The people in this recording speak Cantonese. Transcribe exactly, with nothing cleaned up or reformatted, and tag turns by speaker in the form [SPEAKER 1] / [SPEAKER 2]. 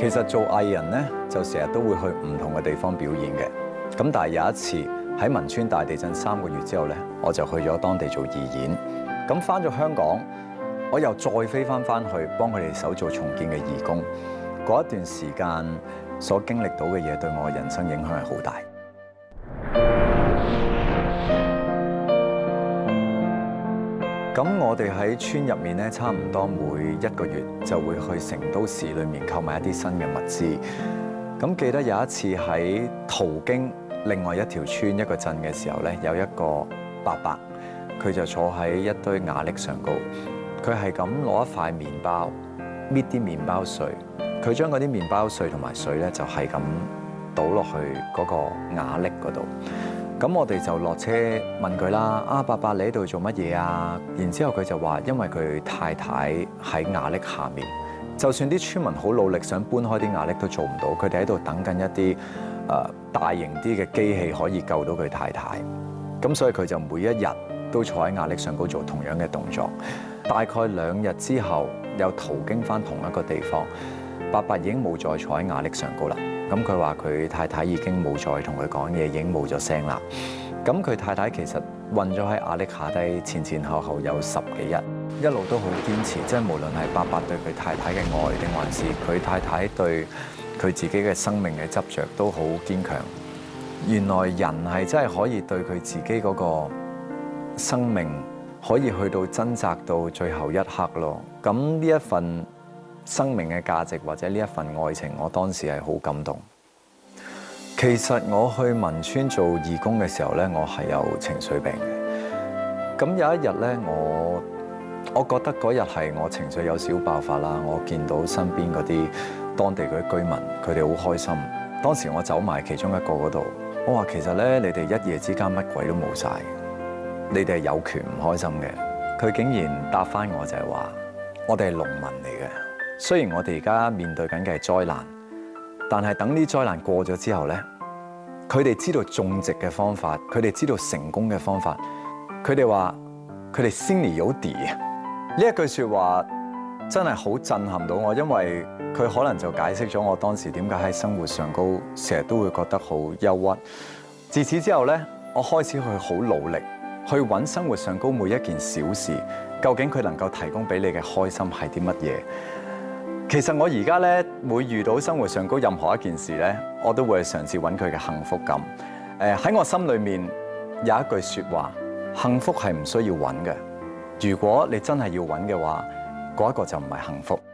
[SPEAKER 1] 其實做藝人咧，就成日都會去唔同嘅地方表演嘅。咁但係有一次喺汶川大地震三個月之後咧，我就去咗當地做義演。咁翻咗香港，我又再飛翻翻去幫佢哋手做重建嘅義工。嗰一段時間所經歷到嘅嘢，對我嘅人生影響係好大。咁我哋喺村入面咧，差唔多每一個月就會去成都市裏面購買一啲新嘅物資。咁記得有一次喺途經另外一條村一個鎮嘅時候咧，有一個伯伯，佢就坐喺一堆瓦礫上高，佢係咁攞一塊麵包搣啲麵包碎，佢將嗰啲麵包碎同埋水咧就係咁倒落去嗰個瓦礫嗰度。咁我哋就落車問佢啦，啊伯伯，你喺度做乜嘢啊？然之後佢就話，因為佢太太喺瓦礫下面，就算啲村民好努力想搬開啲瓦礫都做唔到，佢哋喺度等緊一啲誒、呃、大型啲嘅機器可以救到佢太太。咁所以佢就每一日都坐喺瓦礫上高做同樣嘅動作。大概兩日之後，又途經翻同一個地方，伯伯已經冇再坐喺瓦礫上高啦。咁佢話佢太太已經冇再同佢講嘢，已經冇咗聲啦。咁佢太太其實困咗喺瓦礫下低，前前後後有十幾日，一路都好堅持，即係無論係伯伯對佢太太嘅愛，定還是佢太太對佢自己嘅生命嘅執着，都好堅強。原來人係真係可以對佢自己嗰個生命，可以去到掙扎到最後一刻咯。咁呢一份生命嘅價值或者呢一份愛情，我當時係好感動。其實我去汶川做義工嘅時候咧，我係有情緒病嘅。咁有一日咧，我我覺得嗰日係我情緒有少爆發啦。我見到身邊嗰啲當地嗰啲居民，佢哋好開心。當時我走埋其中一個嗰度，我話其實咧，你哋一夜之間乜鬼都冇晒，你哋係有權唔開心嘅。佢竟然答翻我就係話，我哋係農民嚟嘅。雖然我哋而家面對緊嘅係災難，但係等啲災難過咗之後咧，佢哋知道種植嘅方法，佢哋知道成功嘅方法。佢哋話佢哋心裡有底。呢一句説話真係好震撼到我，因為佢可能就解釋咗我當時點解喺生活上高成日都會覺得好憂鬱。自此之後咧，我開始去好努力去揾生活上高每一件小事，究竟佢能夠提供俾你嘅開心係啲乜嘢？其實我而家咧，每遇到生活上高任何一件事咧，我都會嘗試揾佢嘅幸福感。誒喺我心裏面有一句説話：幸福係唔需要揾嘅。如果你真係要揾嘅話，嗰一個就唔係幸福。